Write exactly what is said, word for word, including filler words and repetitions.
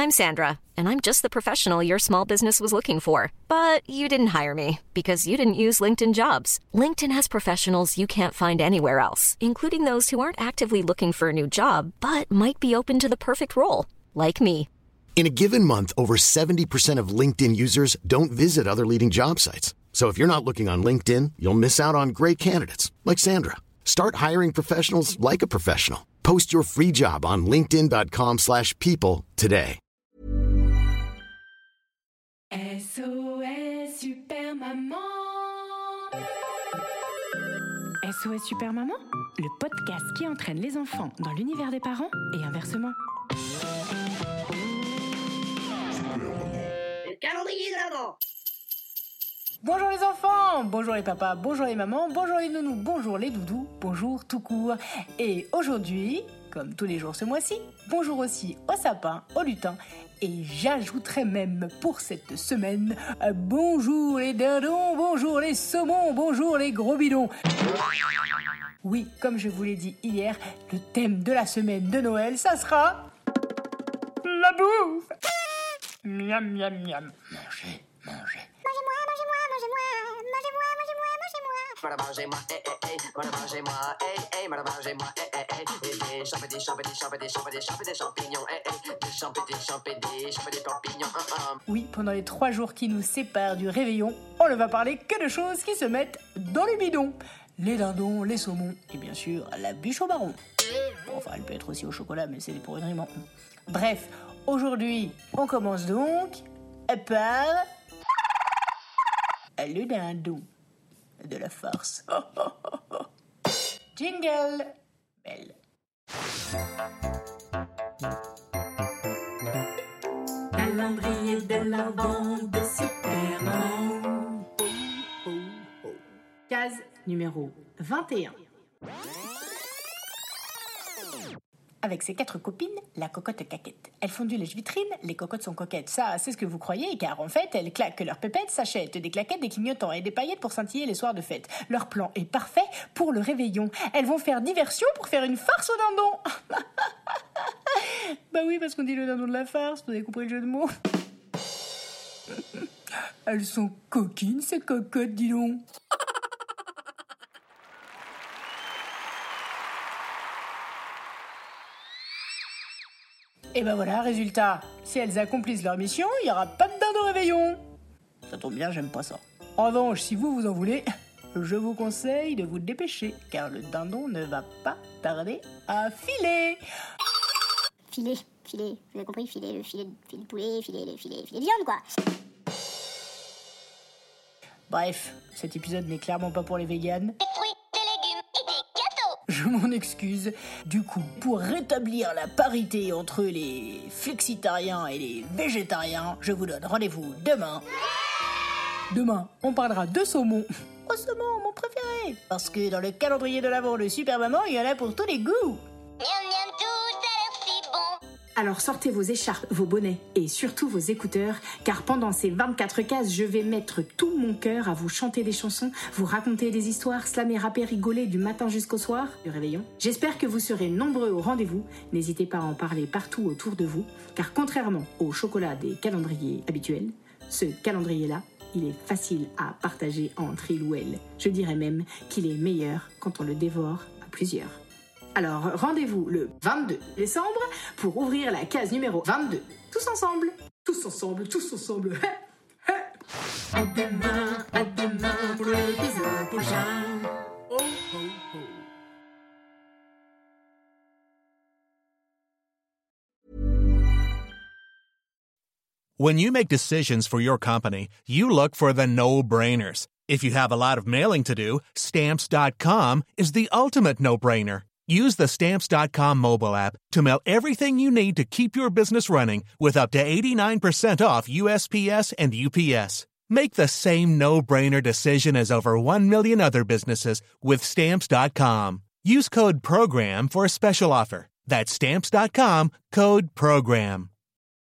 I'm Sandra, and I'm just the professional your small business was looking for. But you didn't hire me because you didn't use LinkedIn Jobs. LinkedIn has professionals you can't find anywhere else, including those who aren't actively looking for a new job, but might be open to the perfect role, like me. In a given month, over seventy percent of LinkedIn users don't visit other leading job sites. So if you're not looking on LinkedIn, you'll miss out on great candidates like Sandra. Start hiring professionals like a professional. Post your free job on linkedin.com slash people today. S O S Super Maman. S O S Super Maman, le podcast qui entraîne les enfants dans l'univers des parents et inversement. Le calendrier de l'Avent. Bonjour les enfants, bonjour les papas, bonjour les mamans, bonjour les nounous, bonjour les doudous, bonjour tout court. Et aujourd'hui, comme tous les jours ce mois-ci, bonjour aussi au sapin, au lutin. Et j'ajouterai même pour cette semaine, euh, bonjour les dindons, bonjour les saumons, bonjour les gros bidons. Oui, comme je vous l'ai dit hier, le thème de la semaine de Noël, ça sera la bouffe. Miam, miam, miam. Mangez, mangez. Mangez-moi, mangez-moi, mangez-moi, mangez-moi, mangez-moi, mangez-moi. Voilà, mangez-moi, eh, eh, eh. Voilà, mangez-moi, eh, eh. Voilà, mangez-moi, eh, eh, eh. Et des champignons, des champignons, des champignons, des champignons, des champignons, eh, eh. Des champignons, des champignons, des champignons, des champignons, hein, hein. Oui, pendant les trois jours qui nous séparent du réveillon, on ne va parler que de choses qui se mettent dans le bidon. Les dindons, les saumons et bien sûr la bûche au marron. Enfin, elle peut être aussi au chocolat, mais c'est pour une rime. Bref, aujourd'hui, on commence donc par le dindon de la farce. Oh, oh, oh, oh. Jingle belle. Calendrier de l'Avent de Super Maman. Case numéro vingt et un. Avec ses quatre copines, la cocotte caquette. Elles font du lèche-vitrine, les cocottes sont coquettes. Ça, c'est ce que vous croyez, car en fait, elles claquent leurs pépettes, s'achètent des claquettes, des clignotants et des paillettes pour scintiller les soirs de fête. Leur plan est parfait pour le réveillon. Elles vont faire diversion pour faire une farce au dindon. Bah oui, parce qu'on dit le dindon de la farce, vous avez compris le jeu de mots. Elles sont coquines, ces cocottes, dis donc. Et ben voilà, résultat, si elles accomplissent leur mission, il n'y aura pas de dindon réveillon. Ça tombe bien, j'aime pas ça. En revanche, si vous vous en voulez, je vous conseille de vous dépêcher, car le dindon ne va pas tarder à filer. Filet, filet, vous avez compris, filet, le filet, filet de poulet, filet, le filet, filet de viande, quoi. Bref, cet épisode n'est clairement pas pour les véganes. Des fruits, des légumes et des gâteaux. Je m'en excuse. Du coup, pour rétablir la parité entre les flexitariens et les végétariens, je vous donne rendez-vous demain. Demain, on parlera de saumon. Oh, saumon, mon préféré. Parce que dans le calendrier de l'Avent de Super Maman, il y en a pour tous les goûts. Miam, miam, tout a l'air si bon. Alors sortez vos écharpes, vos bonnets et surtout vos écouteurs, car pendant ces vingt-quatre cases, je vais mettre tout mon cœur à vous chanter des chansons, vous raconter des histoires, slammer, rapper, rigoler du matin jusqu'au soir du réveillon. J'espère que vous serez nombreux au rendez-vous. N'hésitez pas à en parler partout autour de vous, car contrairement au chocolat des calendriers habituels, ce calendrier-là, il est facile à partager entre il ou elle. Je dirais même qu'il est meilleur quand on le dévore à plusieurs. Alors, rendez-vous le vingt-deux décembre pour ouvrir la case numéro vingt-deux. Tous ensemble. Tous ensemble, tous ensemble. À demain, à demain pour l'épisode prochain. Oh, oh, oh. When you make decisions for your company, you look for the no-brainers. If you have a lot of mailing to do, Stamps dot com is the ultimate no-brainer. Use the Stamps dot com mobile app to mail everything you need to keep your business running with up to eighty-nine percent off U S P S and U P S. Make the same no-brainer decision as over one million other businesses with Stamps dot com. Use code PROGRAM for a special offer. That's Stamps dot com, code PROGRAM.